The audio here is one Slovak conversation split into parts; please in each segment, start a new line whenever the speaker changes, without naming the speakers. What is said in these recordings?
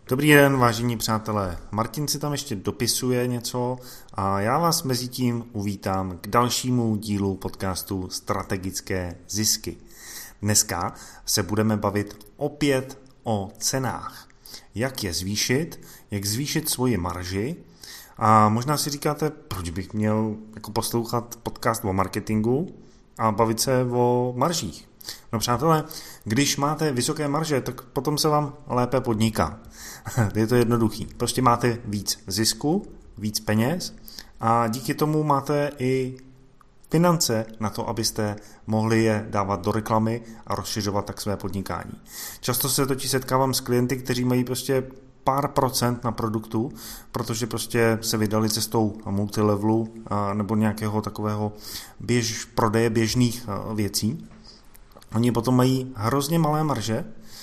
Dobrý den, vážení přátelé. Martin si tam ještě dopisuje něco a já vás mezi tím uvítám k dalšímu dílu podcastu Strategické zisky. Dneska se budeme bavit opět o cenách. Jak je zvýšit, jak zvýšit svoji marži a možná si říkáte, proč bych měl poslouchat podcast o marketingu a bavit se o maržích. No přátelé, když máte vysoké marže, tak potom se vám lépe podniká. Je to jednoduchý. Prostě máte víc zisku, víc peněz a díky tomu máte i finance na to, abyste mohli je dávat do reklamy a rozšiřovat tak své podnikání. Často se totiž setkávám s klienty, kteří mají prostě pár procent na produktu, protože prostě se vydali cestou multilevelu nebo nějakého takového prodeje běžných věcí. Oni potom mají hrozně malé marže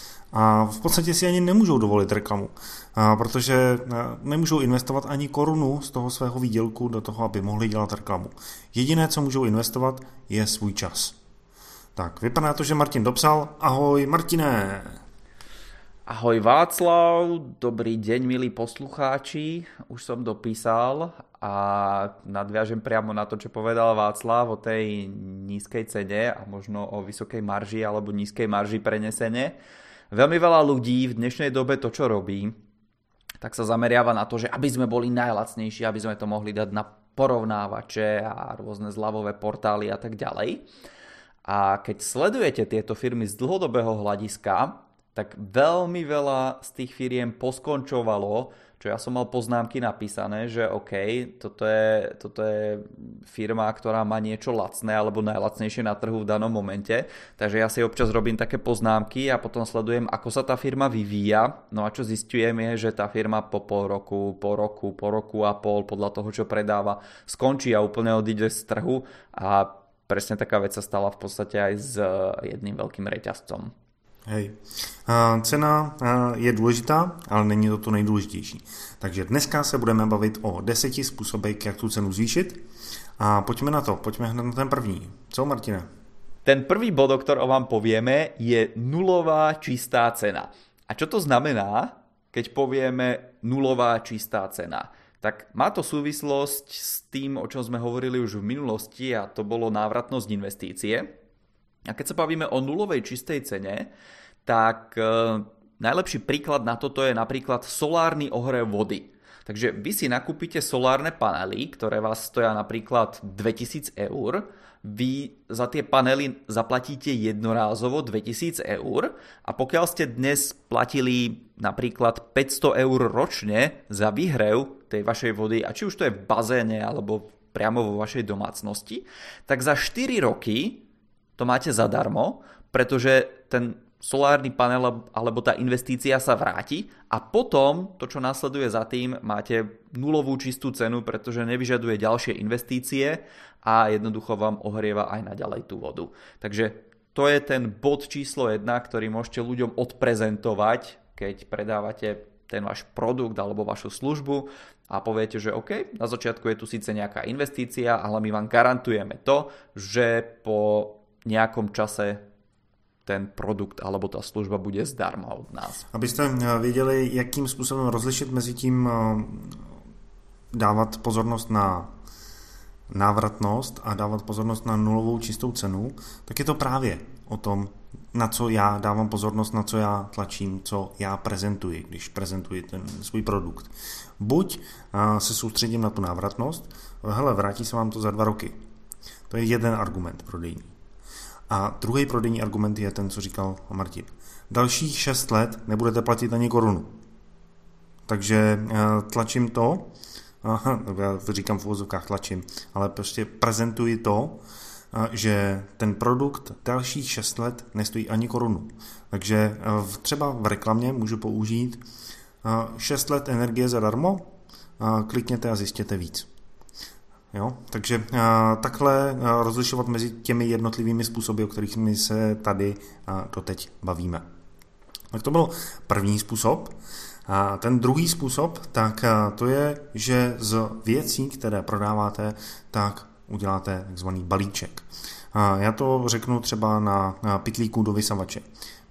a v podstatě si ani nemůžou dovolit reklamu, protože nemůžou investovat ani korunu z toho svého výdělku do toho, aby mohli dělat reklamu. Jediné, co můžou investovat, je svůj čas. Tak, vypadá to, že Martin dopsal. Ahoj, Martine!
Ahoj Václav, dobrý deň milí poslucháči, už som dopísal a nadviažem priamo na to, čo povedal Václav o tej nízkej cene a možno o vysokej marži alebo nízkej marži prenesene. Veľmi veľa ľudí v dnešnej dobe to, čo robí, tak sa zameriava na to, že aby sme boli najlacnejší, aby sme to mohli dať na porovnávače a rôzne zľavové portály a tak ďalej. A keď sledujete tieto firmy z dlhodobého hľadiska, tak veľmi veľa z tých firiem poskončovalo, čo ja som mal poznámky napísané, že OK, toto je firma, ktorá má niečo lacné alebo najlacnejšie na trhu v danom momente, takže ja si občas robím také poznámky a potom sledujem, ako sa tá firma vyvíja, no a čo zistujem je, že tá firma po pol roku, po roku a pol, podľa toho, čo predáva, skončí a úplne odíde z trhu a presne taká vec sa stala v podstate aj s jedným veľkým reťazcom.
Hej. Cena je důležitá, ale není to nejdůležitější. Takže dneska se budeme bavit o 10 způsobech, jak tu cenu zvýšit. A pojďme na to, pojďme hned na ten první. Co, Martine?
Ten prvý bod, o ktorom vám povieme, je nulová čistá cena. A čo to znamená, keď povieme nulová čistá cena? Tak má to súvislosť s tým, o čom sme hovorili už v minulosti, a to bolo návratnosť investície. A keď sa bavíme o nulovej čistej cene, tak najlepší príklad na toto je napríklad solárny ohrev vody. Takže vy si nakúpite solárne panely, ktoré vás stoja napríklad 2000 eur, vy za tie panely zaplatíte jednorázovo 2000 eur a pokiaľ ste dnes platili napríklad 500 eur ročne za výhrev tej vašej vody, a či už to je v bazéne alebo priamo vo vašej domácnosti, tak za 4 roky to máte zadarmo, pretože ten solárny panel alebo tá investícia sa vráti a potom to, čo nasleduje za tým, máte nulovú čistú cenu, pretože nevyžaduje ďalšie investície a jednoducho vám ohrieva aj naďalej tú vodu. Takže to je ten bod číslo 1, ktorý môžete ľuďom odprezentovať, keď predávate ten váš produkt alebo vašu službu a poviete, že OK, na začiatku je tu síce nejaká investícia, ale my vám garantujeme to, že po nejakom čase ten produkt alebo ta služba bude zdarma od nás.
Abyste věděli, jakým způsobem rozlišit mezi tím dávat pozornost na návratnost a dávat pozornost na nulovou čistou cenu, tak je to právě o tom, na co já dávám pozornost, na co já tlačím, co já prezentuji, když prezentuji ten svůj produkt. Buď se soustředím na tu návratnost, hele, vrátí se vám to za 2 roky. To je jeden argument prodejní. A druhý prodejní argument je ten, co říkal Martin. Dalších 6 let nebudete platit ani korunu. Takže tlačím to, já říkám v uvozovkách tlačím, ale prostě prezentuji to, že ten produkt dalších 6 let nestojí ani korunu. Takže třeba v reklamě můžu použít 6 let energie zadarmo, klikněte a zjistěte víc. Jo? Takže takhle rozlišovat mezi těmi jednotlivými způsoby, o kterých my se tady doteď bavíme. Tak to byl první způsob. A ten druhý způsob, tak to je, že z věcí, které prodáváte, tak uděláte takzvaný balíček. Já to řeknu třeba na pytlíku do vysavače.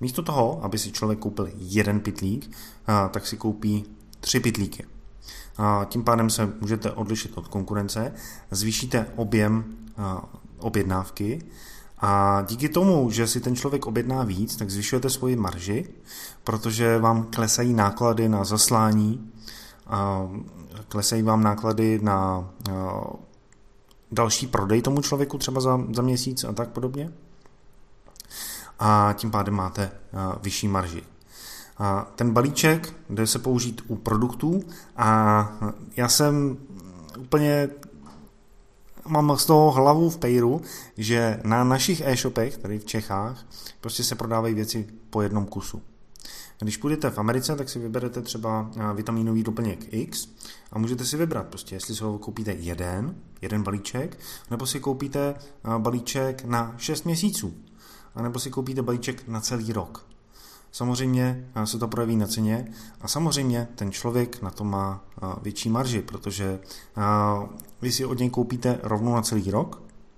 Místo toho, aby si člověk koupil jeden pytlík, tak si koupí 3 pytlíky. Tím pádem se můžete odlišit od konkurence, zvýšíte objem objednávky a díky tomu, že si ten člověk objedná víc, tak zvyšujete svoji marži, protože vám klesají náklady na zaslání, klesají vám náklady na další prodej tomu člověku třeba za měsíc a tak podobně. A tím pádem máte vyšší marži. A ten balíček jde se použít u produktů a já jsem úplně mám z toho hlavu v pejru, že na našich e-shopech, tady v Čechách, prostě se prodávají věci po jednom kusu. Když půjdete v Americe, tak si vyberete třeba vitaminový doplněk X a můžete si vybrat prostě, jestli si ho koupíte jeden balíček, nebo si koupíte balíček na 6 měsíců, nebo si koupíte balíček na celý rok. Samozřejmě se to projeví na ceně a samozřejmě ten člověk na to má větší marži, protože vy si od něj koupíte rovnou na celý rok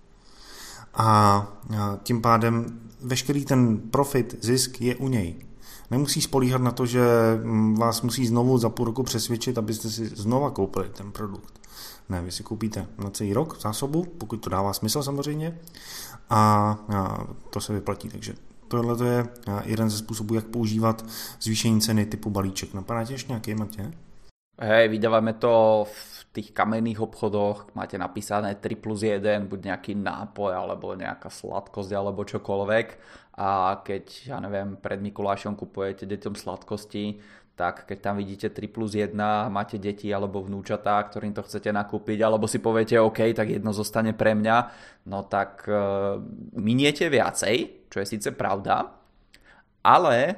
a tím pádem veškerý ten profit, zisk je u něj. Nemusí spolíhat na to, že vás musí znovu za půl roku přesvědčit, abyste si znova koupili ten produkt. Ne, vy si koupíte na celý rok zásobu, pokud to dává smysl samozřejmě, a to se vyplatí. Takže tohle je jeden ze způsobů, jak používat zvýšení ceny typu balíček. Napadá tě ještě nějaký, Matě?
Hej, vydávame to v tých kamenných obchodoch, máte napísané 3+1, buď nejaký nápoj, alebo nejaká sladkosť, alebo čokoľvek. A keď, ja neviem, pred Mikulášom kupujete deťom sladkosti, tak keď tam vidíte 3+1, máte deti alebo vnúčatá, ktorým to chcete nakúpiť, alebo si poviete, OK, tak jedno zostane pre mňa, no tak miniete viacej, čo je síce pravda, ale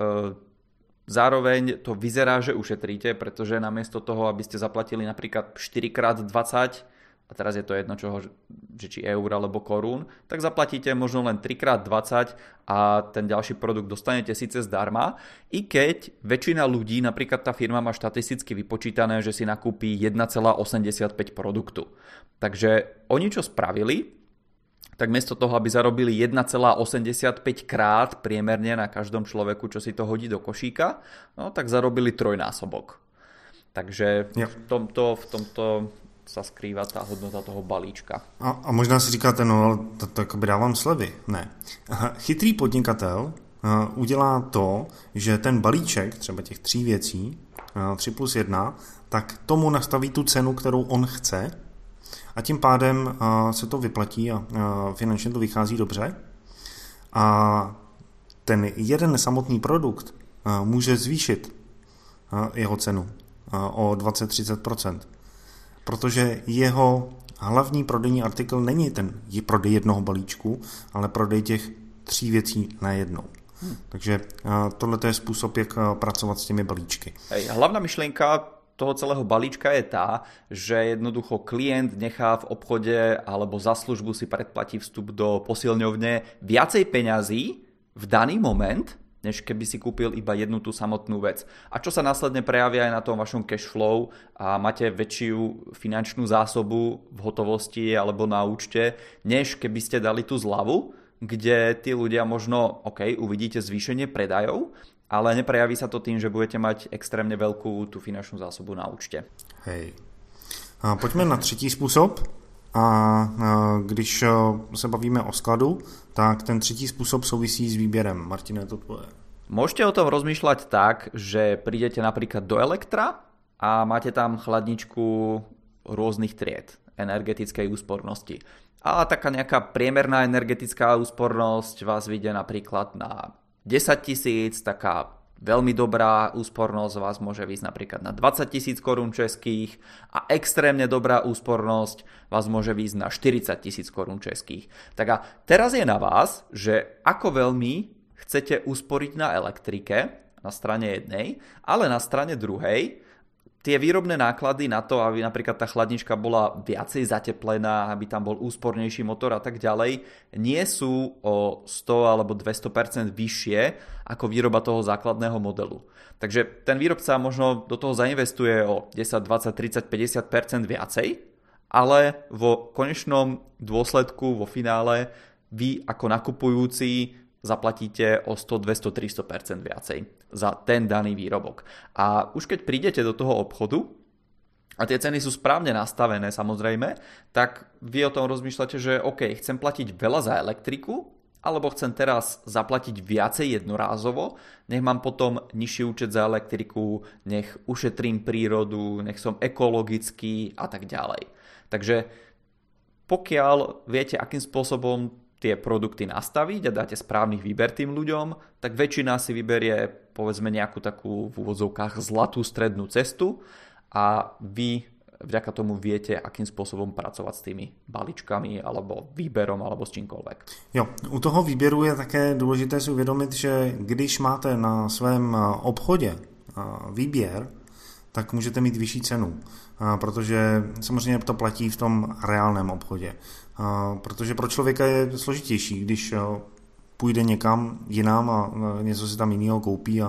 zároveň to vyzerá, že ušetríte, pretože namiesto toho, aby ste zaplatili napríklad 4x20, a teraz je to jedno čoho, že či eur alebo korún, tak zaplatíte možno len 3x20 a ten ďalší produkt dostanete síce zdarma, i keď väčšina ľudí, napríklad tá firma má štatisticky vypočítané, že si nakúpi 1,85 produktu. Takže oni čo spravili, tak miesto toho, aby zarobili 1,85 krát priemerne na každom človeku, čo si to hodí do košíka, no tak zarobili trojnásobok. Takže v tomto sa skrýva tá hodnota toho balíčka.
A možná si říkáte, no tak by dávám slevy. Ne. Chytrý podnikatel udělá to, že ten balíček, třeba těch 3 věcí, 3+1, tak tomu nastaví tu cenu, kterou on chce, a tím pádem se to vyplatí a finančně to vychází dobře. A ten jeden samotný produkt může zvýšit jeho cenu o 20-30%. Protože jeho hlavní prodejní artikl není ten prodej jednoho balíčku, ale prodej těch 3 věcí najednou. Takže tohle je způsob, jak pracovat s těmi balíčky.
Hlavná myšlienka toho celého balíčka je tá, že jednoducho klient nechá v obchode alebo za službu si predplatí vstup do posilňovne viacej peňazí v daný moment, než keby si kúpil iba jednu tú samotnú vec. A čo sa následne prejavia aj na tom vašom cash flow a máte väčšiu finančnú zásobu v hotovosti alebo na účte, než keby ste dali tú zľavu, kde tí ľudia možno, uvidíte zvýšenie predajov, ale neprejaví sa to tým, že budete mať extrémne veľkú tú finančnú zásobu na účte.
Hej. A pojďme na třetí způsob. A když se bavíme o skladu, tak ten třetí způsob souvisí s výběrem. Martine, to tvoje.
Môžete o tom rozmýšľať tak, že prídete napríklad do Elektra a máte tam chladničku rôznych tried energetickej úspornosti. A taká nejaká priemerná energetická úspornosť vás vyjde napríklad na 10 000, taká veľmi dobrá úspornosť vás môže výjsť napríklad na 20 000 korún českých a extrémne dobrá úspornosť vás môže výjsť na 40 000 korún českých. Tak a teraz je na vás, že ako veľmi chcete usporiť na elektrike na strane jednej, ale na strane druhej tie výrobné náklady na to, aby napríklad tá chladnička bola viacej zateplená, aby tam bol úspornejší motor a tak ďalej, nie sú o 100 alebo 200% vyššie ako výroba toho základného modelu. Takže ten výrobca možno do toho zainvestuje o 10, 20, 30, 50% viacej, ale vo konečnom dôsledku, vo finále, vy ako nakupujúci zaplatíte o 100, 200, 300% viacej za ten daný výrobok. A už keď prídete do toho obchodu a tie ceny sú správne nastavené samozrejme, tak vy o tom rozmýšľate, že OK, chcem platiť veľa za elektriku, alebo chcem teraz zaplatiť viacej jednorázovo, nech mám potom nižší účet za elektriku, nech ušetrím prírodu, nech som ekologický a tak ďalej. Takže pokiaľ viete, akým spôsobom tie produkty nastaviť a dáte správny výber tým ľuďom, tak väčšina si vyberie povedzme nejakú takú v úvodzovkách zlatú strednú cestu a vy vďaka tomu viete, akým spôsobom pracovat s tými balíčkami alebo výberom alebo s čímkoľvek.
Jo, u toho výběru je také důležité si uvědomit, že když máte na svém obchodě výběr, tak můžete mít vyšší cenu, protože samozřejmě to platí v tom reálném obchodě. Protože pro člověka je složitější, když půjde někam jinam a něco si tam jiného koupí,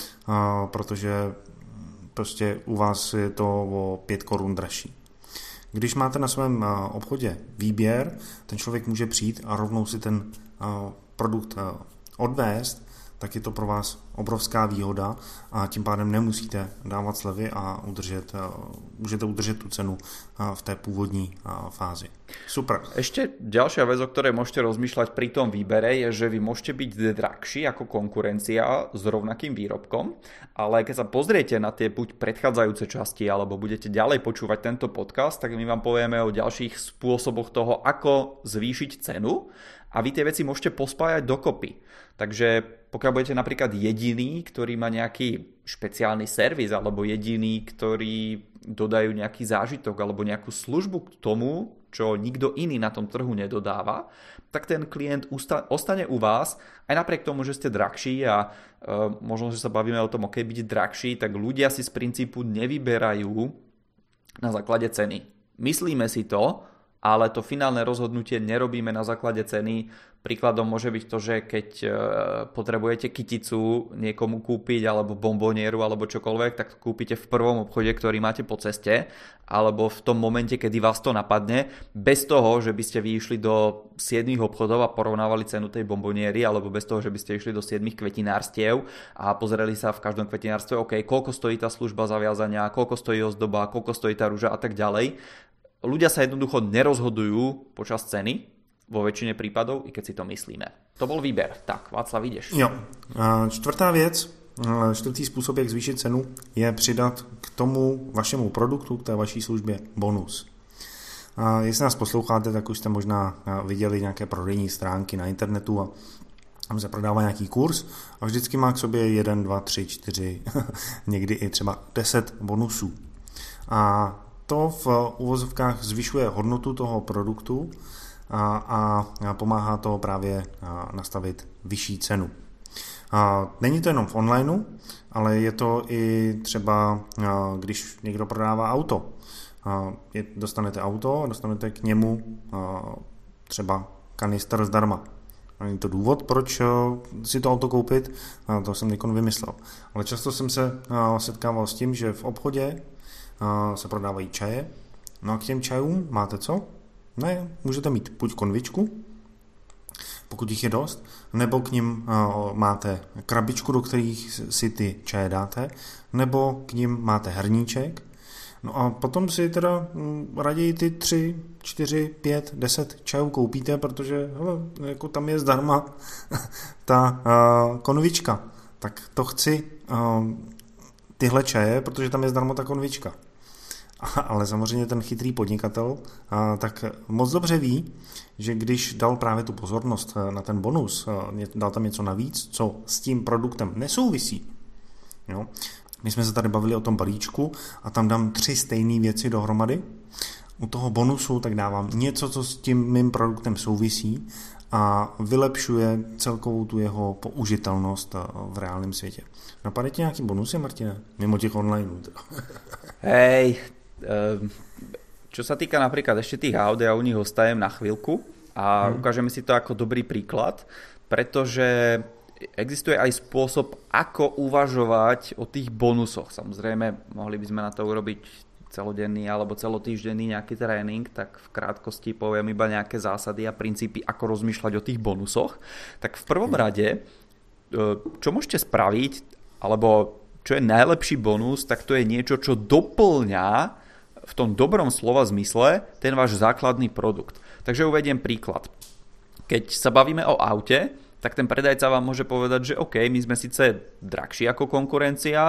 protože prostě u vás je to o 5 korun dražší. Když máte na svém obchodě výběr, ten člověk může přijít a rovnou si ten produkt odvést, tak je to pro vás obrovská výhoda a tím pádem nemusíte dávat slevy a můžete udržet tu cenu v té původní fázi. Super.
Ešte ďalšia vec, o ktorej môžete rozmýšľať pri tom výbere, je, že vy môžete byť drahší ako konkurencia s rovnakým výrobkom, ale keď sa pozriete na tie buď predchádzajúce časti, alebo budete ďalej počúvať tento podcast, tak my vám povieme o ďalších spôsoboch toho, ako zvýšiť cenu a vy tie veci môžete pospájať dokopy. Takže pokiaľ budete napríklad jediný, ktorý má nejaký špeciálny servis, alebo jediný, ktorý dodajú nejaký zážitok alebo nejakú službu k tomu, čo nikto iný na tom trhu nedodáva, tak ten klient ostane u vás aj napriek tomu, že ste drahší a možno, že sa bavíme o tom, ok, byť drahší, tak ľudia si z princípu nevyberajú na základe ceny. Myslíme si to, ale to finálne rozhodnutie nerobíme na základe ceny. Príkladom môže byť to, že keď potrebujete kyticu niekomu kúpiť, alebo bombonieru, alebo čokoľvek, tak to kúpite v prvom obchode, ktorý máte po ceste, alebo v tom momente, kedy vás to napadne, bez toho, že by ste vy išli do 7 obchodov a porovnávali cenu tej bomboniery, alebo bez toho, že by ste išli do 7 kvetinárstiev a pozreli sa v každom kvetinárstve, OK, koľko stojí tá služba zaviazania, koľko stojí ozdoba, koľko stojí tá ruža a tak ďalej. Ľudia sa jednoducho nerozhodujú počas ceny, vo väčšine prípadov, i keď si to myslíme. To bol výber. Tak, Václav, ideš.
Jo. Čtvrtý způsob, jak zvýšit cenu, je přidat k tomu vašemu produktu, k té vaší službě bonus. Jestli nás posloucháte, tak už jste možná viděli nějaké prodejní stránky na internetu a tam se prodává nějaký kurz a vždycky má k sobě 1, 2, 3, 4, někdy i třeba 10 bonusů. A to v uvozovkách zvyšuje hodnotu toho produktu a pomáhá to právě nastavit vyšší cenu. Není to jenom v onlineu, ale je to i třeba, když někdo prodává auto. Dostanete auto a dostanete k němu třeba kanister zdarma. Není to důvod, proč si to auto koupit, to jsem někdo vymyslel. Ale často jsem se setkával s tím, že v obchodě se prodávají čaje, no a k těm čajům máte co? Ne, můžete mít buď konvičku, pokud jich je dost, nebo k nim máte krabičku, do kterých si ty čaje dáte, nebo k nim máte hrníček. No a potom si teda raději ty 3, 4, 5, 10 čajů koupíte, protože hele, jako tam je zdarma ta konvička. Tak to chci tyhle čaje, protože tam je zdarma ta konvička. Ale samozřejmě ten chytrý podnikatel tak moc dobře ví, že když dal právě tu pozornost na ten bonus, dal tam něco navíc, co s tím produktem nesouvisí. Jo? My jsme se tady bavili o tom balíčku a tam dám 3 stejné věci dohromady. U toho bonusu tak dávám něco, co s tím mým produktem souvisí a vylepšuje celkovou tu jeho použitelnost v reálném světě. Napadá ti nějaký bonusy, Martine? Mimo těch online.
Hej, čo sa týka napríklad ešte tých aut, ja u nich ostajem na chvíľku a ukážeme si to ako dobrý príklad, pretože existuje aj spôsob, ako uvažovať o tých bonusoch. Samozrejme, mohli by sme na to urobiť celodenný alebo celotýždenný nejaký trénink, tak v krátkosti poviem iba nejaké zásady a princípy, ako rozmýšľať o tých bonusoch. Tak v prvom rade, čo môžete spraviť, alebo čo je najlepší bonus, tak to je niečo, čo doplňa v tom dobrom slova zmysle ten váš základný produkt. Takže uvediem príklad. Keď sa bavíme o aute, tak ten predajca vám môže povedať, že OK, my sme síce drahší ako konkurencia,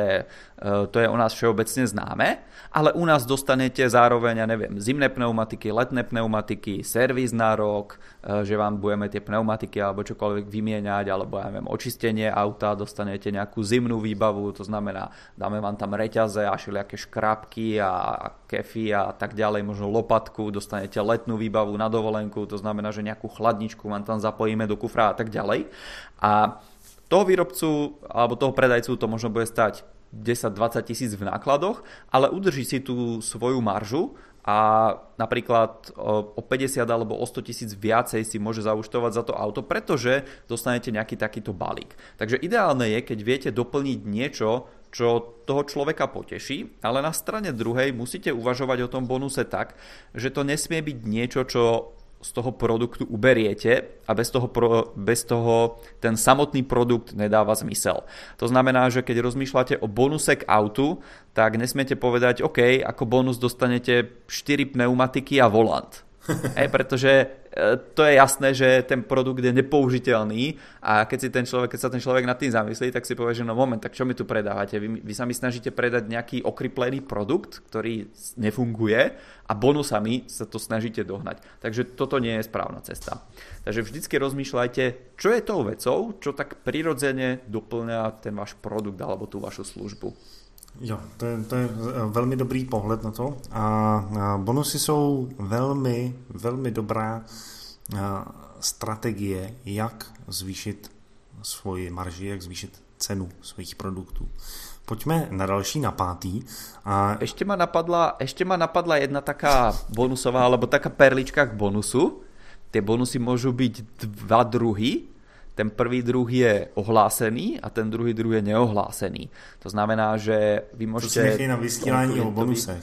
to je o nás všeobecne známe, ale u nás dostanete zároveň, ja neviem, zimné pneumatiky, letné pneumatiky, servis na rok, že vám budeme tie pneumatiky alebo čokoľvek vymieňať, alebo ja neviem, očistenie auta, dostanete nejakú zimnú výbavu, to znamená, dáme vám tam reťaze a všelijaké škrábky a kefy a tak ďalej, možno lopatku, dostanete letnú výbavu na dovolenku, to znamená, že nejakú chladničku vám tam zapojíme do kufra a tak ďalej. A toho výrobcu alebo toho predajcu to možno bude stať 10-20 tisíc v nákladoch, ale udrží si tú svoju maržu a napríklad o 50 alebo o 100 tisíc viacej si môže zaúčtovať za to auto, pretože dostanete nejaký takýto balík. Takže ideálne je, keď viete doplniť niečo, čo toho človeka poteší, ale na strane druhej musíte uvažovať o tom bonuse tak, že to nesmie byť niečo, čo z toho produktu uberiete a bez toho ten samotný produkt nedáva zmysel. To znamená, že keď rozmýšľate o bonuse k autu, tak nesmiete povedať, OK, ako bonus dostanete 4 pneumatiky a volant. Pretože to je jasné, že ten produkt je nepoužiteľný a keď sa ten človek nad tým zamyslí, tak si povie, že no moment, tak čo mi tu predávate? Vy sa mi snažíte predať nejaký okryplený produkt, ktorý nefunguje a bonusami sa to snažíte dohnať. Takže toto nie je správna cesta. Takže vždycky rozmýšľajte, čo je tou vecou, čo tak prirodzene doplňa ten váš produkt alebo tú vašu službu.
Jo, to je velmi dobrý pohled na to a bonusy jsou velmi, velmi dobrá strategie, jak zvýšit svoji marži, jak zvýšit cenu svých produktů. Pojďme na další, na pátý.
Ešte ma napadla jedna taká bonusová, alebo taká perlička k bonusu. Tie bonusy môžu byť dva druhy. Ten prvý druh je ohlásený a ten druhý druh je neohlásený. To znamená, že vy môžete...
To si nechej na vysílání o bonusech.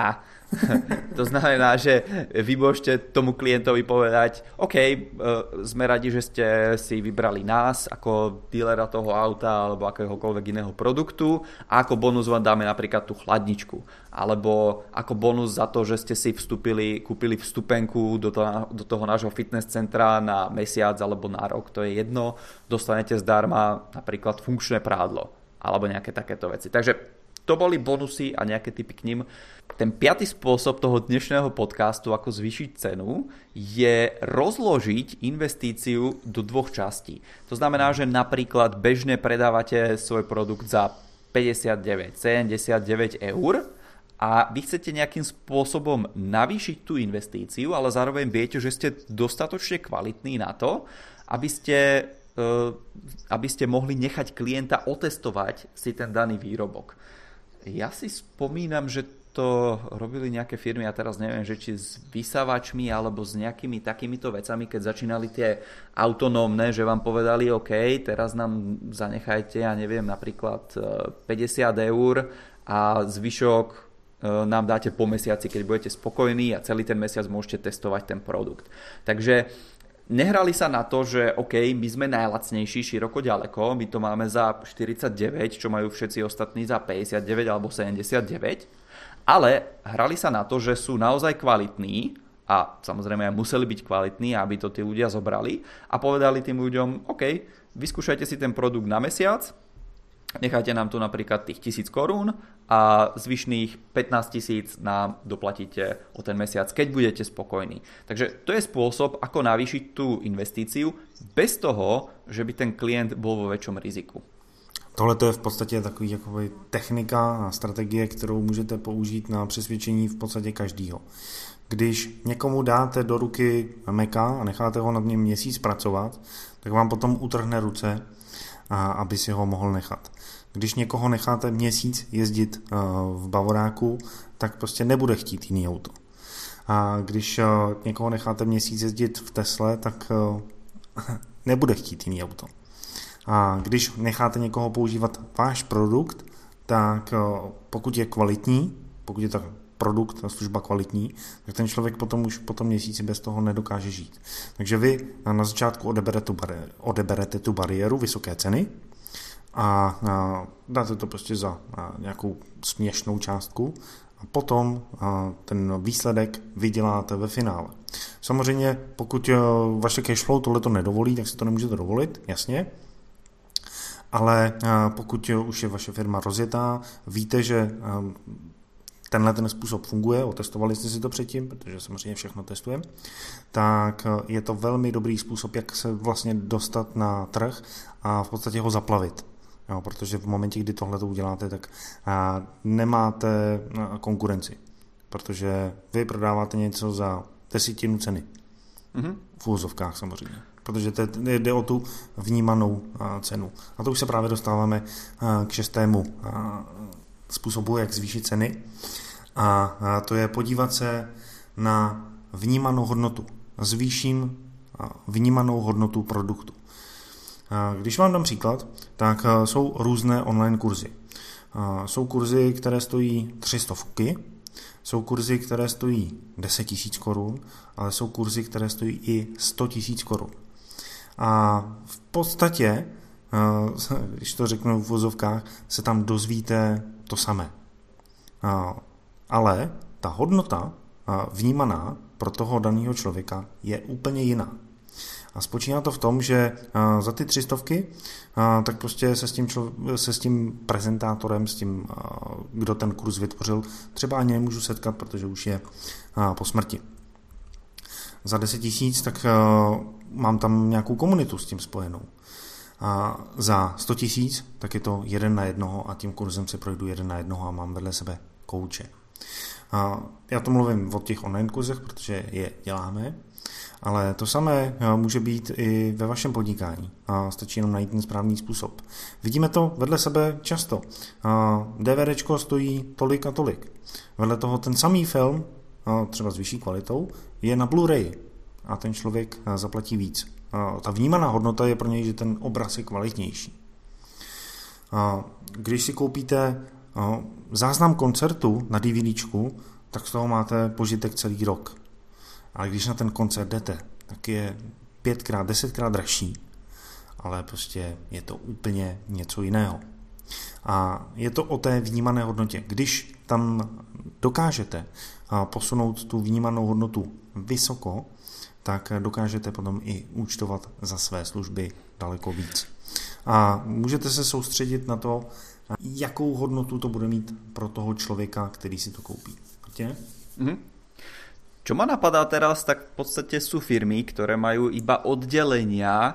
To znamená, že vy môžete tomu klientovi povedať, OK, sme radi, že ste si vybrali nás ako dílera toho auta alebo akéhokoľvek iného produktu a ako bonus vám dáme napríklad tú chladničku. Alebo ako bonus za to, že ste si kúpili vstupenku do toho nášho fitness centra na mesiac alebo na rok, to je jedno, dostanete zdarma napríklad funkčné prádlo alebo nejaké takéto veci. Takže to boli bonusy a nejaké tipy k nim. Ten piaty spôsob toho dnešného podcastu, ako zvýšiť cenu, je rozložiť investíciu do dvoch častí. To znamená, že napríklad bežne predávate svoj produkt za 59-79 eur a vy chcete nejakým spôsobom navýšiť tú investíciu, ale zároveň viete, že ste dostatočne kvalitní na to, aby ste mohli nechať klienta otestovať si ten daný výrobok. Ja si spomínam, že to robili nejaké firmy, a teraz neviem, že či s vysávačmi alebo s nejakými takýmito vecami, keď začínali tie autonómne, že vám povedali OK, teraz nám zanechajte, ja neviem, napríklad 50 eur a zvyšok nám dáte po mesiaci, keď budete spokojní a celý ten mesiac môžete testovať ten produkt. Takže nehrali sa na to, že OK, my sme najlacnejší široko ďaleko, my to máme za 49, čo majú všetci ostatní za 59 alebo 79, ale hrali sa na to, že sú naozaj kvalitní a samozrejme aj museli byť kvalitní, aby to tí ľudia zobrali a povedali tým ľuďom, OK, vyskúšajte si ten produkt na mesiac, nechajte nám tu napríklad tých 1000 korún a zvyšných 15 000 nám doplatíte o ten mesiac, keď budete spokojní. Takže to je spôsob, ako navýšiť tú investíciu bez toho, že by ten klient bol vo väčšom riziku.
Tohle to je v podstatě takový jakoby technika a strategie, kterou můžete použít na přesvědčení v podstatě každýho. Když někomu dáte do ruky Maca a necháte ho nad ním měsíc pracovat, tak vám potom utrhne ruce, aby si ho mohl nechat. Když někoho necháte měsíc jezdit v Bavoráku, tak prostě nebude chtít jiný auto. A když někoho necháte měsíc jezdit v Tesle, tak nebude chtít jiný auto. A když necháte někoho používat váš produkt, tak pokud je kvalitní, pokud je ta produkt, ta služba kvalitní, tak ten člověk potom už po tom měsíci bez toho nedokáže žít. Takže vy na začátku odeberete tu bariéru vysoké ceny a dáte to prostě za nějakou směšnou částku a potom ten výsledek vyděláte ve finále. Samozřejmě, pokud vaše cashflow tohleto nedovolí, tak si to nemůžete dovolit, jasně, ale pokud už je vaše firma rozjetá, víte, že tenhle ten způsob funguje, otestovali jste si to předtím, protože samozřejmě všechno testujeme, tak je to velmi dobrý způsob, jak se vlastně dostat na trh a v podstatě ho zaplavit. Jo, protože v momentě, kdy tohle to uděláte, tak nemáte konkurenci, protože vy prodáváte něco za 10 ceny. V úvozovkách samozřejmě. Protože jde o tu vnímanou cenu. A to už se právě dostáváme k 6. způsobu, jak zvýšit ceny. A to je podívat se na vnímanou hodnotu. Zvýším vnímanou hodnotu produktu. Když vám dám příklad, tak jsou různé online kurzy. Jsou kurzy, které stojí 300, jsou kurzy, které stojí 10 000 korun, ale jsou kurzy, které stojí i 100 000 korun. A v podstatě, když to řeknu v vozovkách, se tam dozvíte to samé. Ale ta hodnota vnímaná pro toho daného člověka je úplně jiná. A spočívá to v tom, že za ty 300 tak prostě se s tím prezentátorem, s tím, kdo ten kurz vytvořil, třeba ani nemůžu setkat, protože už je po smrti. Za 10 000 tak mám tam nějakou komunitu s tím spojenou. A za 100 000 tak je to 1 na 1 a tím kurzem se projdu 1 na 1 a mám vedle sebe kouče. Já to mluvím o těch online kurzech, protože je děláme, ale to samé může být i ve vašem podnikání. Stačí jenom najít ten správný způsob. Vidíme to vedle sebe často. DVDčko stojí tolik a tolik. Vedle toho ten samý film, třeba s vyšší kvalitou, je na Blu-ray a ten člověk zaplatí víc. Ta vnímaná hodnota je pro něj, že ten obraz je kvalitnější. Když si koupíte záznam koncertu na DVDčku, tak z toho máte požitek celý rok. Ale když na ten koncert jdete, tak je 5x, 10x dražší, ale prostě je to úplně něco jiného. A je to o té vnímané hodnotě. Když tam dokážete posunout tu vnímanou hodnotu vysoko, tak dokážete potom i účtovat za své služby daleko víc. A můžete se soustředit na to, jakou hodnotu to bude mít pro toho člověka, který si to koupí. Víte?
Čo ma napadá teraz, tak v podstate sú firmy, ktoré majú iba oddelenia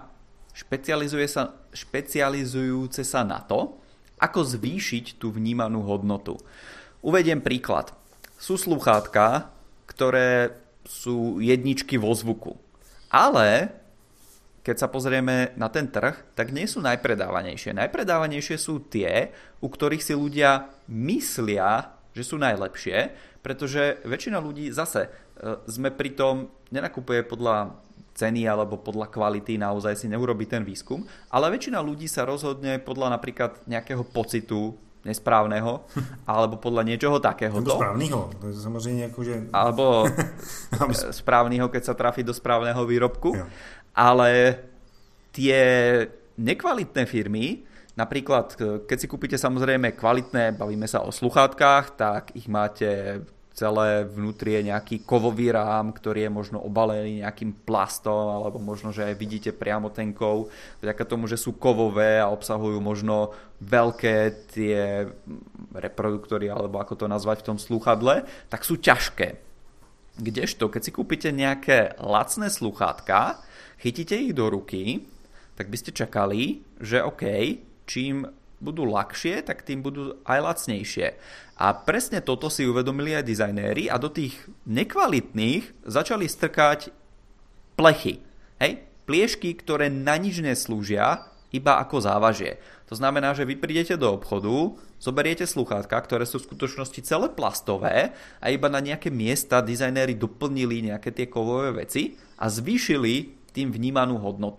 špecializujúce sa na to, ako zvýšiť tú vnímanú hodnotu. Uvediem príklad. Sú slúchátka, ktoré sú jedničky vo zvuku. Ale keď sa pozrieme na ten trh, tak nie sú najpredávanejšie. Najpredávanejšie sú tie, u ktorých si ľudia myslia, že sú najlepšie, pretože väčšina ľudí zase sme pri tom, nenakupuje podľa ceny alebo podľa kvality, naozaj si neurobí ten výskum, ale väčšina ľudí sa rozhodne podľa napríklad nejakého pocitu nesprávneho, alebo podľa niečoho takého.
Nebo správneho, to je samozřejmě jakože...
Alebo správneho, keď sa trafí do správneho výrobku. Jo. Ale tie nekvalitné firmy, napríklad, keď si kúpite samozrejme kvalitné, bavíme sa o sluchátkach, tak ich máte celé vnútri je nejaký kovový rám, ktorý je možno obalený nejakým plastom, alebo možno, že aj vidíte priamo ten kov, vďaka tomu, že sú kovové a obsahujú možno veľké tie reproduktory, alebo ako to nazvať v tom slúchadle, tak sú ťažké. Kdežto, keď si kúpite nejaké lacné slúchátka, chytíte ich do ruky, tak by ste čakali, že OK, čím budú ľahšie, tak tým budú aj lacnejšie. A presne toto si uvedomili aj dizajnéri a do tých nekvalitných začali strkať plechy. Hej? Pliešky, ktoré na nič neslúžia, iba ako závažie. To znamená, že vy prídete do obchodu, zoberiete slúchadká, ktoré sú v skutočnosti celé plastové a iba na nejaké miesta dizajnéri doplnili nejaké tie kovové veci a zvýšili tým vnímanú hodnotu.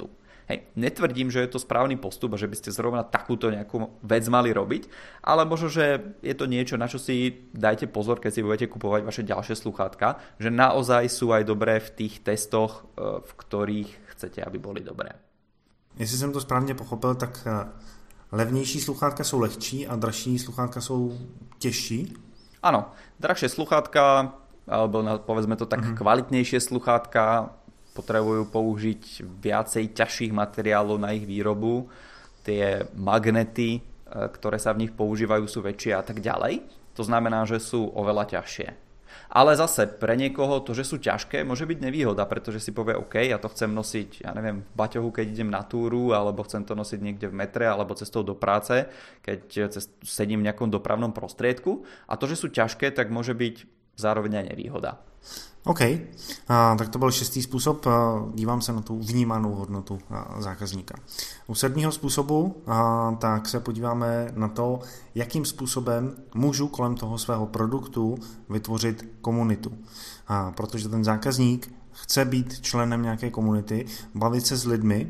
Hej, netvrdím, že je to správny postup a že by ste zrovna takúto nejakú vec mali robiť, ale možno, že je to niečo, na čo si dajte pozor, keď si budete kupovať vaše ďalšie sluchátka, že naozaj sú aj dobré v tých testoch, v ktorých chcete, aby boli dobré.
Jestli jsem to správně pochopil, tak levnější sluchátka jsou lehčí a dražší sluchátka jsou těžší?
Áno, drahšie sluchátka, alebo povedzme to tak kvalitnejšie sluchátka potrebujú použiť viacej ťažších materiálov na ich výrobu. Tie magnety, ktoré sa v nich používajú, sú väčšie a tak ďalej. To znamená, že sú oveľa ťažšie. Ale zase pre niekoho to, že sú ťažké, môže byť nevýhoda, pretože si povie, OK, ja to chcem nosiť, ja neviem, v baťohu, keď idem na túru, alebo chcem to nosiť niekde v metre, alebo cestou do práce, keď sedím v nejakom dopravnom prostriedku. A to, že sú ťažké, tak môže byť zároveň aj nevýhoda.
OK, tak to byl 6. způsob, dívám se na tu vnímanou hodnotu zákazníka. U 7. způsobu tak se podíváme na to, jakým způsobem můžu kolem toho svého produktu vytvořit komunitu. Protože ten zákazník chce být členem nějaké komunity, bavit se s lidmi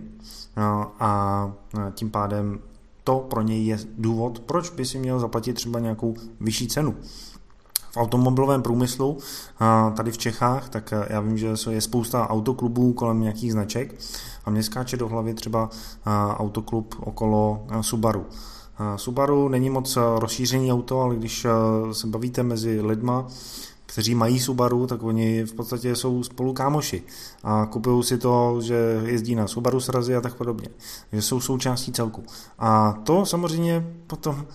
a tím pádem to pro něj je důvod, proč by si měl zaplatit třeba nějakou vyšší cenu. V automobilovém průmyslu tady v Čechách, tak já vím, že je spousta autoklubů kolem nějakých značek a mně skáče do hlavy třeba autoklub okolo Subaru. Subaru není moc rozšířený auto, ale když se bavíte mezi lidma, kteří mají Subaru, tak oni v podstatě jsou spolu kámoši a kupují si to, že jezdí na Subaru srazy a tak podobně, že jsou součástí celku. A to samozřejmě potom,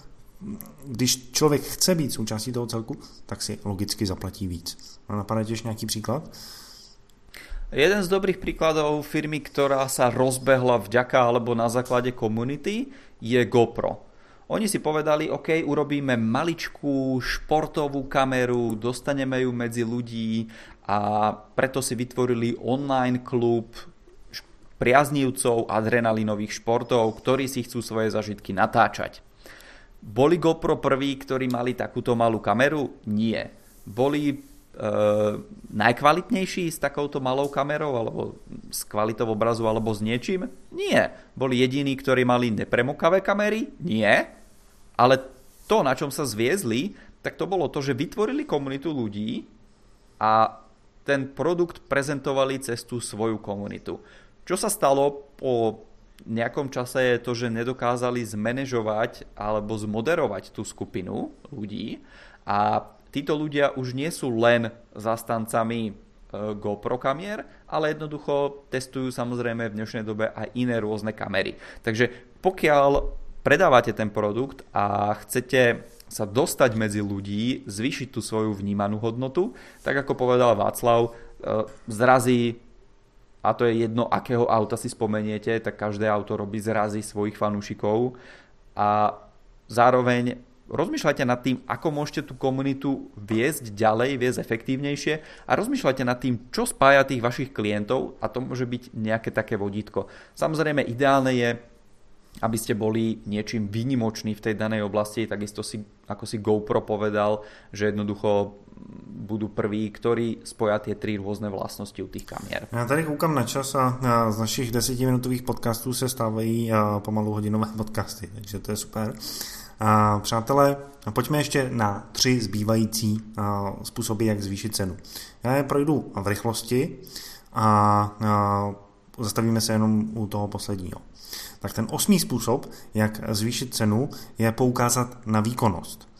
když člověk chce být součástí toho celku, tak si logicky zaplatí víc. Napadá tiež nejaký príklad?
Jeden z dobrých príkladov firmy, ktorá sa rozbehla vďaka alebo na základe komunity, je GoPro. Oni si povedali, OK, urobíme maličkú športovú kameru, dostaneme ju medzi ľudí a preto si vytvorili online klub priaznivcov adrenalinových športov, ktorí si chcú svoje zažitky natáčať. Boli GoPro prví, ktorí mali takúto malú kameru? Nie. Boli najkvalitnejší s takouto malou kamerou alebo s kvalitou obrazu alebo s niečím? Nie. Boli jediní, ktorí mali nepremokavé kamery? Nie. Ale to, na čom sa zviezli, tak to bolo to, že vytvorili komunitu ľudí a ten produkt prezentovali cez tú svoju komunitu. Čo sa stalo po nejakom čase je to, že nedokázali zmanéžovať alebo zmoderovať tú skupinu ľudí a títo ľudia už nie sú len zastancami GoPro kamier, ale jednoducho testujú samozrejme v dnešnej dobe aj iné rôzne kamery. Takže pokiaľ predávate ten produkt a chcete sa dostať medzi ľudí, zvýšiť tú svoju vnímanú hodnotu, tak ako povedal Václav, zrazy, a to je jedno, akého auta si spomeniete, tak každé auto robí zrazy svojich fanúšikov a zároveň rozmýšľajte nad tým, ako môžete tú komunitu viesť ďalej, viesť efektívnejšie a rozmýšľajte nad tým, čo spája tých vašich klientov a to môže byť nejaké také vodítko. Samozrejme, ideálne je, aby ste boli niečím výnimoční v tej danej oblasti, takisto si, ako si GoPro povedal, že jednoducho budú prví, ktorí spoja tie tri rôzne vlastnosti u tých kamier.
Já tady koukám na čas a z našich 10-minutových podcastů se stávají pomalu hodinové podcasty, takže to je super. Přátelé, pojďme ještě na 3 zbývající způsoby, jak zvýšit cenu. Já je projdu v rychlosti a zastavíme se jenom u toho posledního. Tak ten 8. způsob, jak zvýšit cenu, je poukázat na výkonnost.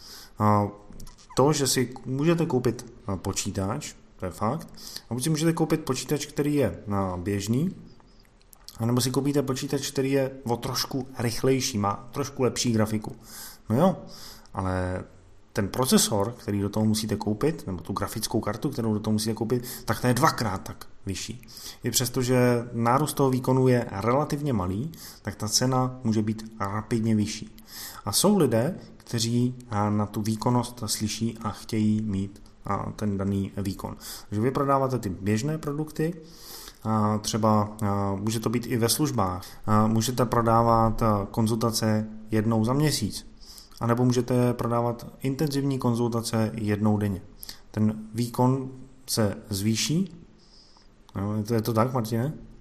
To, že si můžete koupit počítač, to je fakt, a buď si můžete koupit počítač, který je běžný, anebo si koupíte počítač, který je o trošku rychlejší, má trošku lepší grafiku. No jo, ale ten procesor, který do toho musíte koupit, nebo tu grafickou kartu, kterou do toho musíte koupit, tak to je 2x tak vyšší. I přesto, že nárůst toho výkonu je relativně malý, tak ta cena může být rapidně vyšší. A jsou lidé, kteří na tu výkonnost slyší a chtějí mít ten daný výkon. Takže vy prodáváte ty běžné produkty, třeba může to být i ve službách. Můžete prodávat konzultace jednou za měsíc, anebo můžete prodávat intenzivní konzultace jednou denně. Ten výkon se zvýší. Je to tak, Martine?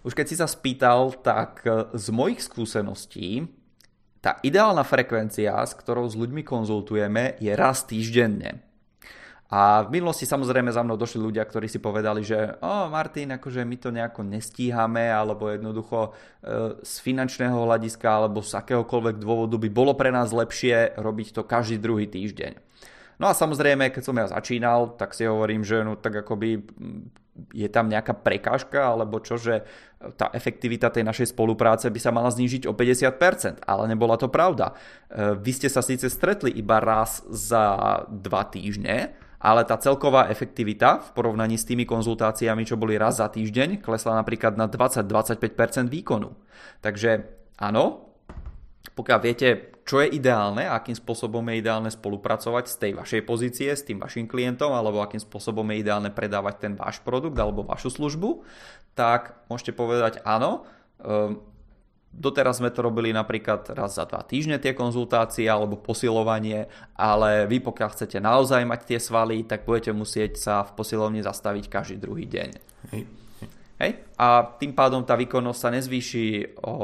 Už keď si sa spýtal, tak z mojich skúseností tá ideálna frekvencia, s ktorou s ľuďmi konzultujeme, je raz týždenne. A v minulosti samozrejme za mnou došli ľudia, ktorí si povedali, že Martin, akože my to nejako nestíhame, alebo jednoducho z finančného hľadiska, alebo z akéhokoľvek dôvodu by bolo pre nás lepšie robiť to každý druhý týždeň. No a samozrejme, keď som ja začínal, tak si hovorím, že no tak akoby je tam nejaká prekážka, alebo čo, že tá efektivita tej našej spolupráce by sa mala znížiť o 50%, ale nebola to pravda. Vy ste sa síce stretli iba raz za 2 týždne, ale tá celková efektivita v porovnaní s tými konzultáciami, čo boli raz za týždeň, klesla napríklad na 20-25% výkonu. Takže áno, pokiaľ viete, čo je ideálne a akým spôsobom je ideálne spolupracovať z tej vašej pozície s tým vašim klientom, alebo akým spôsobom je ideálne predávať ten váš produkt alebo vašu službu, tak môžete povedať áno. Doteraz sme to robili napríklad raz za 2 týždne tie konzultácie alebo posilovanie, ale vy pokiaľ chcete naozaj mať tie svaly, tak budete musieť sa v posilovni zastaviť každý druhý deň. Hej? A tým pádom tá výkonnosť sa nezvýši o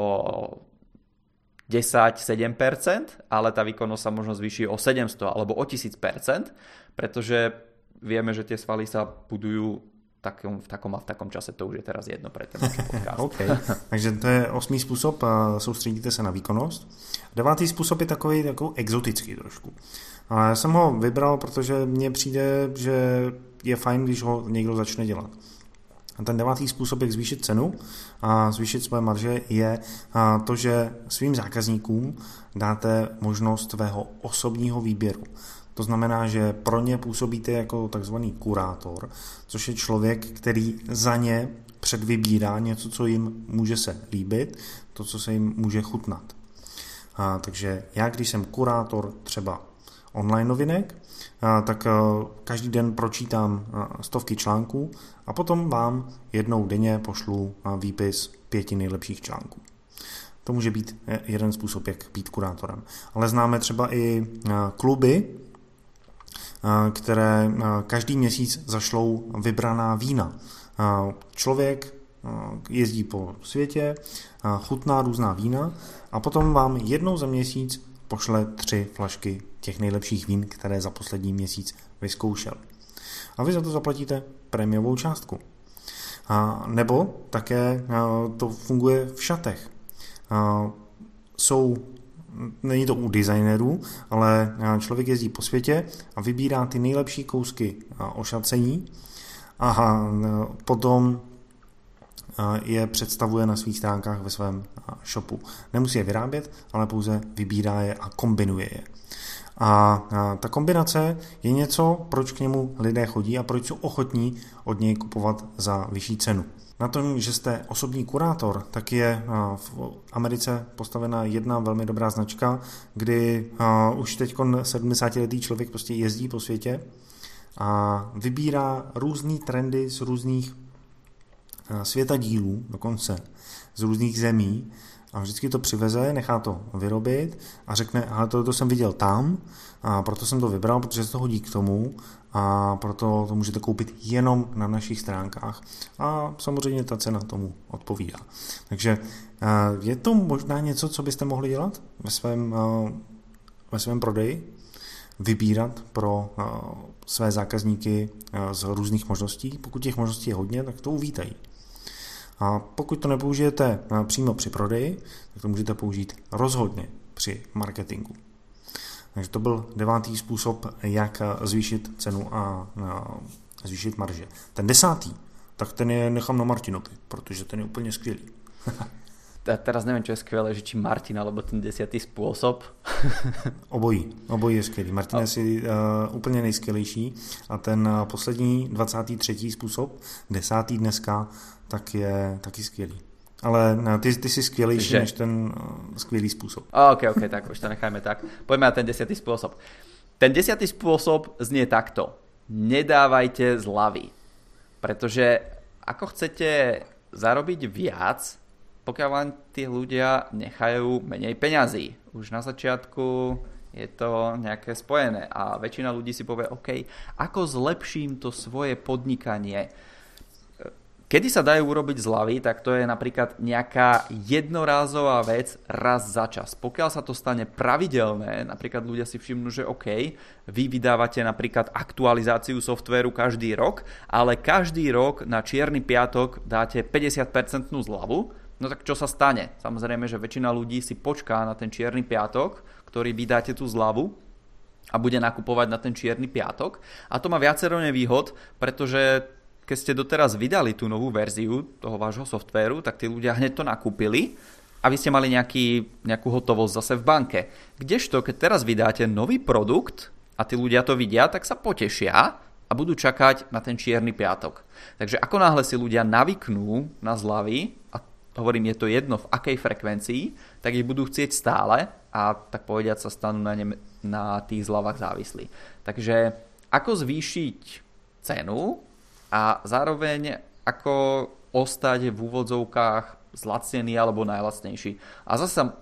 10-7%, ale tá výkonnosť sa možno zvýši o 700 alebo o 1000%, pretože vieme, že tie svaly sa budujú v takom čase, to už je teraz jedno pre ten náš podcast.
Okay. Takže to je 8. způsob, soustředíte se na výkonnost. 9. způsob je takový exotický trošku. A já jsem ho vybral, protože mně přijde, že je fajn, když ho někdo začne dělat. A ten 9. způsob, jak zvýšit cenu a zvýšit svoje marže, je to, že svým zákazníkům dáte možnost svého osobního výběru. To znamená, že pro ně působíte jako takzvaný kurátor, což je člověk, který za ně předvybírá něco, co jim může se líbit, to, co se jim může chutnat. Takže já, když jsem kurátor třeba online novinek, tak každý den pročítám stovky článků a potom vám jednou denně pošlu výpis 5 nejlepších článků. To může být jeden způsob, jak být kurátorem. Ale známe třeba i kluby, které každý měsíc zašlou vybraná vína. Člověk jezdí po světě, chutná různá vína a potom vám jednou za měsíc pošle 3 flašky těch nejlepších vín, které za poslední měsíc vyzkoušel. A vy za to zaplatíte prémiovou částku. Nebo také to funguje v šatech. Není to u designérů, ale člověk jezdí po světě a vybírá ty nejlepší kousky ošacení a potom je představuje na svých stránkách ve svém shopu. Nemusí je vyrábět, ale pouze vybírá je a kombinuje je. A ta kombinace je něco, proč k němu lidé chodí a proč jsou ochotní od něj kupovat za vyšší cenu. Na tom, že jste osobní kurátor, tak je v Americe postavena jedna velmi dobrá značka, kdy už teď 70letý člověk prostě jezdí po světě a vybírá různý trendy z různých světadílů, dokonce z různých zemí a vždycky to přiveze, nechá to vyrobit a řekne, ale to jsem viděl tam a proto jsem to vybral, protože se to hodí k tomu a proto to můžete koupit jenom na našich stránkách a samozřejmě ta cena tomu odpovídá. Takže je to možná něco, co byste mohli dělat ve svém prodeji? Vybírat pro své zákazníky z různých možností. Pokud těch možností je hodně, tak to uvítají. A pokud to nepoužijete přímo při prodeji, tak to můžete použít rozhodně při marketingu. Takže to byl 9. způsob, jak zvýšit cenu a zvýšit marže. Ten 10. tak ten je nechám na Martinovi, protože ten je úplně skvělý.
Teraz neviem, čo je skvelé, že či Martin alebo ten 10. spôsob.
Obojí je skvělý. Martin je si úplně nejskvělejší a ten poslední 23. způsob, 10. dneska, tak je taky skvělý. Ale ty jsi skvělejší než ten skvělý způsob.
OK, tak už to nechajme tak. Poďme na ten 10. spôsob. Ten 10. spôsob znie takto. Nedávajte zľavy. Pretože ako chcete zarobiť viac, pokiaľ vám tí ľudia nechajú menej peňazí. Už na začiatku je to nejaké spojené a väčšina ľudí si povie, OK, ako zlepším to svoje podnikanie? Kedy sa dajú urobiť zľavy, tak to je napríklad nejaká jednorázová vec raz za čas. Pokiaľ sa to stane pravidelné, napríklad ľudia si všimnú, že OK, vy vydávate napríklad aktualizáciu softvéru každý rok, ale každý rok na čierny piatok dáte 50% zľavu, no tak čo sa stane? Samozrejme, že väčšina ľudí si počká na ten čierny piatok, ktorý vydáte tú zľavu a bude nakupovať na ten čierny piatok. A to má viacero nevýhod, pretože keď ste doteraz vydali tú novú verziu toho vášho softvéru, tak tí ľudia hneď to nakúpili a vy ste mali nejakú hotovosť zase v banke. Kdežto, keď teraz vydáte nový produkt a tí ľudia to vidia, tak sa potešia a budú čakať na ten čierny piatok. Takže ako náhle si ľudia navyknú na zľavy, a hovorím, je to jedno v akej frekvencii, tak ich budú chcieť stále a tak povediať sa stanú na tých zľavách závislí. Takže ako zvýšiť cenu a zároveň ako ostať v úvodzovkách zlacnený alebo najlacnejší. A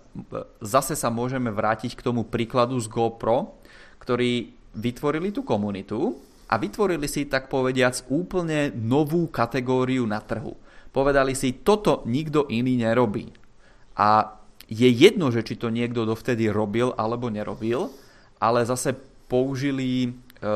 zase sa môžeme vrátiť k tomu príkladu z GoPro, ktorí vytvorili tú komunitu a vytvorili si, tak povediac, úplne novú kategóriu na trhu. Povedali si, toto nikto iný nerobí. A je jedno, že či to niekto dovtedy robil alebo nerobil, ale zase použili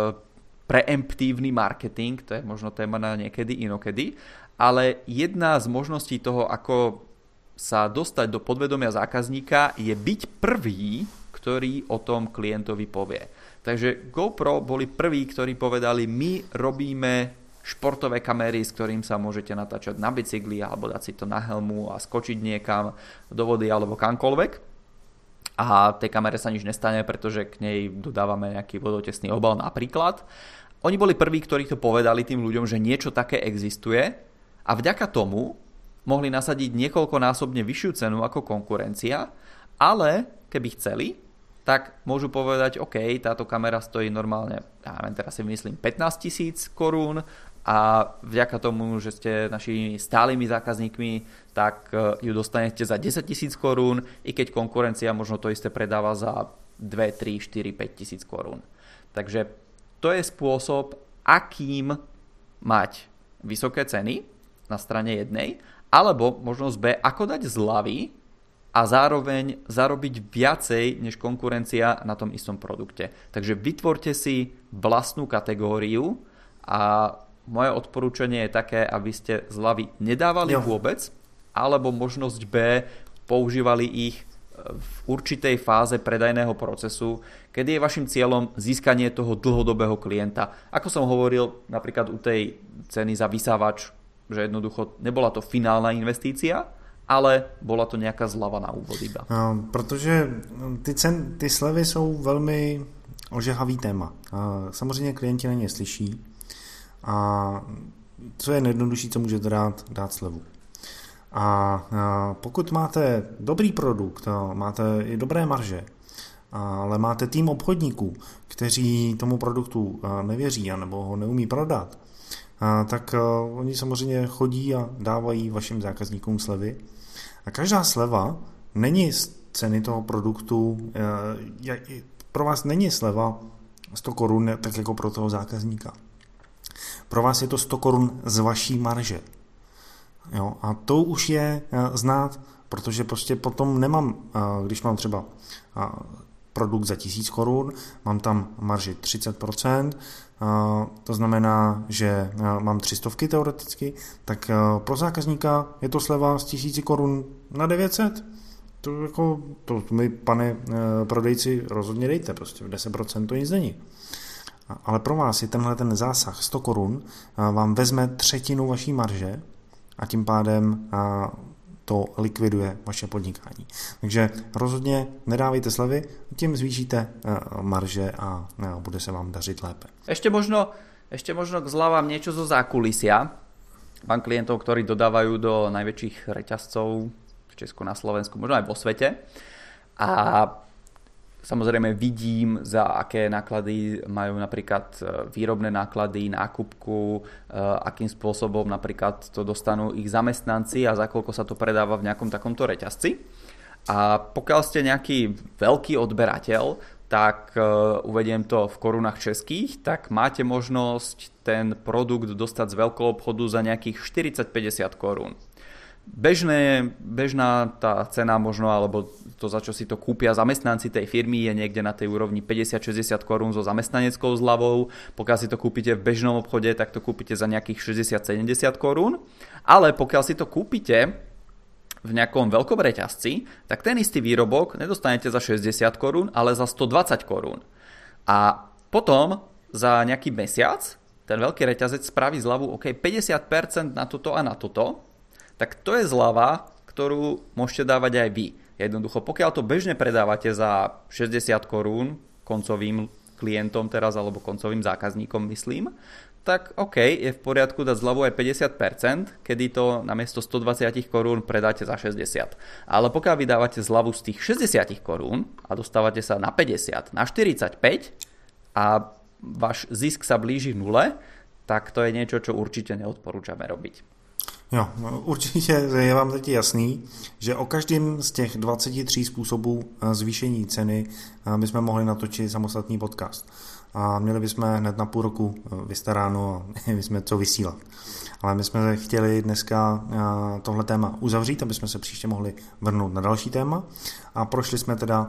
preemptívny marketing, to je možno téma na niekedy inokedy, ale jedna z možností toho, ako sa dostať do podvedomia zákazníka, je byť prvý, ktorý o tom klientovi povie. Takže GoPro boli prví, ktorí povedali, my robíme športové kamery, s ktorým sa môžete natáčať na bicykli alebo dať si to na helmu a skočiť niekam do vody alebo kamkoľvek. A tej kamere sa nič nestane, pretože k nej dodávame nejaký vodotesný obal napríklad. Oni boli prví, ktorí to povedali tým ľuďom, že niečo také existuje a vďaka tomu mohli nasadiť niekoľkonásobne vyššiu cenu ako konkurencia, ale keby chceli, tak môžu povedať, OK, táto kamera stojí normálne, ja neviem, teraz si myslím 15 000 korún a vďaka tomu, že ste našimi stálymi zákazníkmi, tak ju dostanete za 10 000 korún, i keď konkurencia možno to isté predáva za 2, 3, 4, 5 tisíc korún. Takže to je spôsob, akým mať vysoké ceny na strane jednej, alebo možnosť B, ako dať zľavy a zároveň zarobiť viacej než konkurencia na tom istom produkte. Takže vytvorte si vlastnú kategóriu a moje odporúčanie je také, aby ste zľavy nedávali vôbec, alebo možnosť B, používali ich v určitej fáze predajného procesu, kedy je vašim cieľom získanie toho dlhodobého klienta. Ako som hovoril napríklad u tej ceny za vysávač, že jednoducho nebola to finálna investícia, ale bola to nějaká zlava na úvod iba.
Protože ty slevy jsou velmi ožehavý téma. Samozřejmě klienti na ně slyší a co je nejjednodušší, co můžete dát slevu. A pokud máte dobrý produkt, máte i dobré marže, ale máte tým obchodníků, kteří tomu produktu nevěří nebo ho neumí prodat, tak oni samozřejmě chodí a dávají vašim zákazníkům slevy. A každá sleva není z ceny toho produktu, pro vás není sleva 100 korun, tak jako pro toho zákazníka. Pro vás je to 100 korun z vaší marže. Jo, a to už je znát, protože prostě potom nemám, když mám třeba produkt za 1000 korun, mám tam marži 30%, to znamená, že mám 300 teoreticky, tak pro zákazníka je to sleva z 1000 korun na 900. To mi, pane prodejci, rozhodně dejte, prostě v 10% to nic není. Ale pro vás je tenhle ten zásah 100 korun, vám vezme třetinu vaší marže a tím pádem to likviduje vaše podnikání. Takže rozhodně nedávejte slevy, tím zvýšíte marže a bude se vám dařit lépe.
Ešte možno k zľavám niečo zo zákulisia. Mám klientov, ktorí dodávajú do najväčších reťazcov v Česku, na Slovensku, možno aj vo svete. A samozrejme vidím, za aké náklady majú napríklad výrobné náklady, nákupku, akým spôsobom napríklad to dostanú ich zamestnanci a za koľko sa to predáva v nejakom takomto reťazci. A pokiaľ ste nejaký veľký odberateľ, tak uvediem to v korunách českých, tak máte možnosť ten produkt dostať z veľkého obchodu za nejakých 40-50 korún. Bežná tá cena možno, alebo to, za čo si to kúpia zamestnanci tej firmy, je niekde na tej úrovni 50-60 korún so zamestnaneckou zľavou. Pokiaľ si to kúpite v bežnom obchode, tak to kúpite za nejakých 60-70 korún. Ale pokiaľ si to kúpite v nejakom veľkom reťazci, tak ten istý výrobok nedostanete za 60 korún, ale za 120 korún. A potom za nejaký mesiac ten veľký reťazec spraví zľavu 50% na toto a na toto, tak to je zľava, ktorú môžete dávať aj vy. Jednoducho, pokiaľ to bežne predávate za 60 korún koncovým klientom teraz, alebo koncovým zákazníkom, myslím, tak je v poriadku dať zľavu aj 50%, kedy to namiesto 120 korún predáte za 60. Ale pokiaľ vy dávate zľavu z tých 60 korún a dostávate sa na 50, na 45 a váš zisk sa blíži nule, tak to je niečo, čo určite neodporúčame robiť.
Jo, určitě je vám teď jasný, že o každém z těch 23 způsobů zvýšení ceny bychom mohli natočit samostatný podcast. A měli bychom hned na půl roku vystaráno a bychom co vysílat. Ale my jsme chtěli dneska tohle téma uzavřít, aby jsme se příště mohli vrhnout na další téma. A prošli jsme teda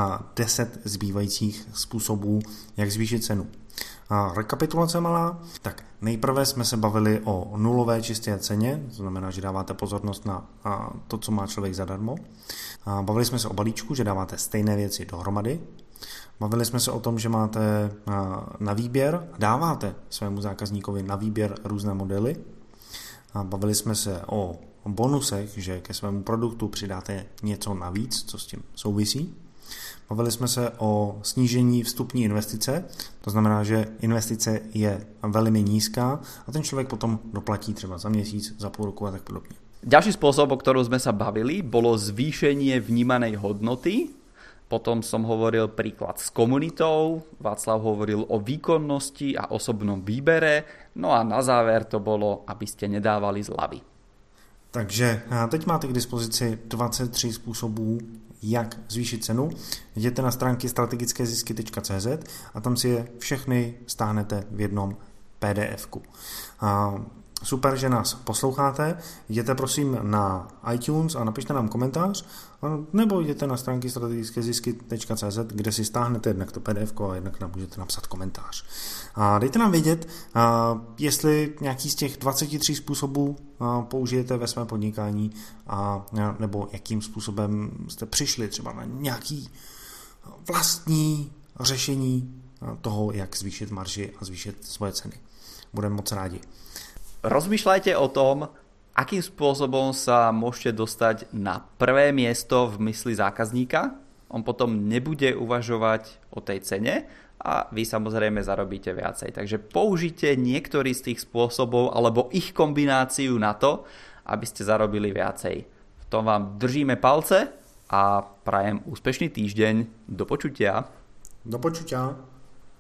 10 zbývajících způsobů, jak zvýšit cenu. Rekapitulace malá. Tak nejprve jsme se bavili o nulové čisté ceně, to znamená, že dáváte pozornost na to, co má člověk zadarmo. Bavili jsme se o balíčku, že dáváte stejné věci dohromady. Bavili jsme se o tom, že máte na výběr, dáváte svému zákazníkovi na výběr různé modely. Bavili jsme se o bonusech, že ke svému produktu přidáte něco navíc, co s tím souvisí. Bavili jsme se o snížení vstupní investice, to znamená, že investice je velmi nízká a ten člověk potom doplatí třeba za měsíc, za půl roku a tak podobně.
Ďalší spôsob, o ktorom sme sa bavili, bolo zvýšenie vnímanej hodnoty. Potom som hovoril príklad s komunitou, Václav hovoril o výkonnosti a osobnom výbere, no a na záver to bolo, aby ste nedávali zľavy.
Takže teď máte k dispozici 23 způsobů, jak zvýšit cenu. Jděte na stránky strategickézisky.cz a tam si je všechny stáhnete v jednom PDF-ku. Super, že nás posloucháte. Jděte prosím na iTunes a napište nám komentář, nebo jděte na stránky strategickézisky.cz, kde si stáhnete jednak to PDF a jednak nám můžete napsat komentář. A dejte nám vědět, jestli nějaký z těch 23 způsobů použijete ve svém podnikání, nebo jakým způsobem jste přišli třeba na nějaký vlastní řešení toho, jak zvýšit marži a zvýšit svoje ceny. Budeme moc rádi.
Rozmýšľajte o tom, akým spôsobom sa môžete dostať na prvé miesto v mysli zákazníka. On potom nebude uvažovať o tej cene a vy samozrejme zarobíte viacej. Takže použite niektorý z tých spôsobov alebo ich kombináciu na to, aby ste zarobili viacej. V tom vám držíme palce a prajem úspešný týždeň. Do počutia.
Do počutia.